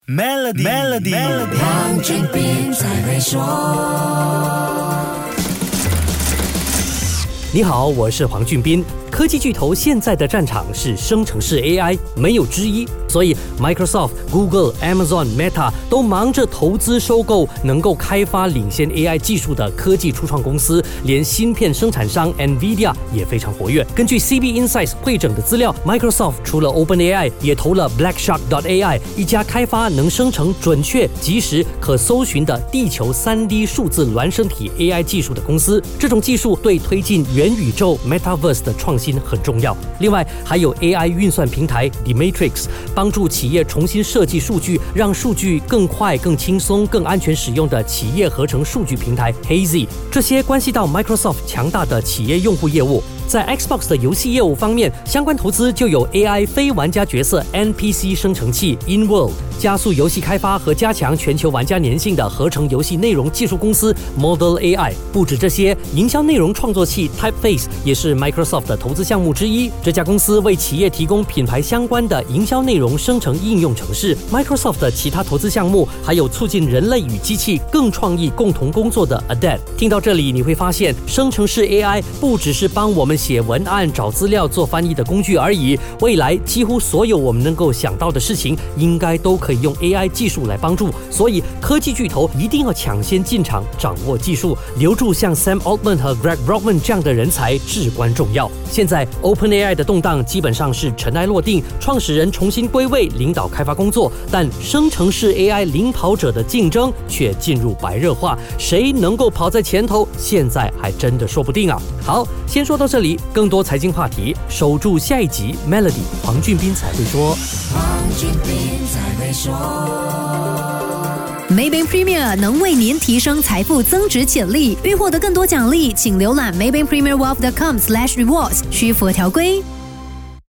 Melody， 黄俊斌才会说。 你好，我是黄俊斌。科技巨头现在的战场是生成式 AI， 没有之一。所以 Microsoft、Google、Amazon、Meta 都忙着投资收购能够开发领先 AI 技术的科技初创公司，连芯片生产商 NVIDIA 也非常活跃。根据 CB Insights 汇整的资料， Microsoft 除了 OpenAI， 也投了 Blackshark.ai， 一家开发能生成准确、即时、可搜寻的地球 3D 数字孪生体 AI 技术的公司。这种技术对推进元宇宙 Metaverse 的创新很重要。另外还有 AI 运算平台 Dematrix， 帮助企业重新设计数据，让数据更快、更轻松、更安全使用的企业合成数据平台 Hazy， 这些关系到 Microsoft 强大的企业用户业务。在 Xbox 的游戏业务方面，相关投资就有 AI 非玩家角色 NPC 生成器 InWorld， 加速游戏开发和加强全球玩家粘性的合成游戏内容技术公司 Model AI。 不止这些，营销内容创作器 Typeface 也是 Microsoft 的投资项目之一。这家公司为企业提供品牌相关的营销内容生成应用程式。 Microsoft 的其他投资项目还有促进人类与机器更创意共同工作的 Adapt。 听到这里你会发现，生成式 AI 不只是帮我们写文案、找资料、做翻译的工具而已，未来几乎所有我们能够想到的事情，应该都可以用 AI 技术来帮助。所以科技巨头一定要抢先进场，掌握技术，留住像 Sam Altman 和 Greg Brockman 这样的人才至关重要。现在 OpenAI 的动荡基本上是尘埃落定，创始人重新归位，领导开发工作，但生成式 AI 领跑者的竞争却进入白热化，谁能够跑在前头，现在还真的说不定啊。好，先说到这里，更多财经话题，守住下一集 Melody， 黄俊斌才会说。 黄俊斌才会说。 Maybank Premier 能为您提升财富增值潜力，欲获得更多奖励，请浏览 maybankpremierwealth.com/rewards， 需符合条规。